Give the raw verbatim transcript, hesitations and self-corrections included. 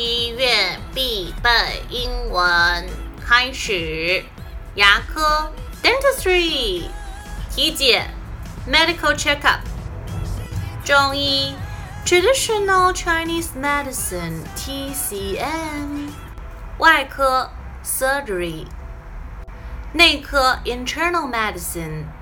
医院必备英文开始。牙科 dentistry， 体检 medical checkup， 中医 traditional Chinese medicine T C M， 外科 surgery， 内科 internal medicine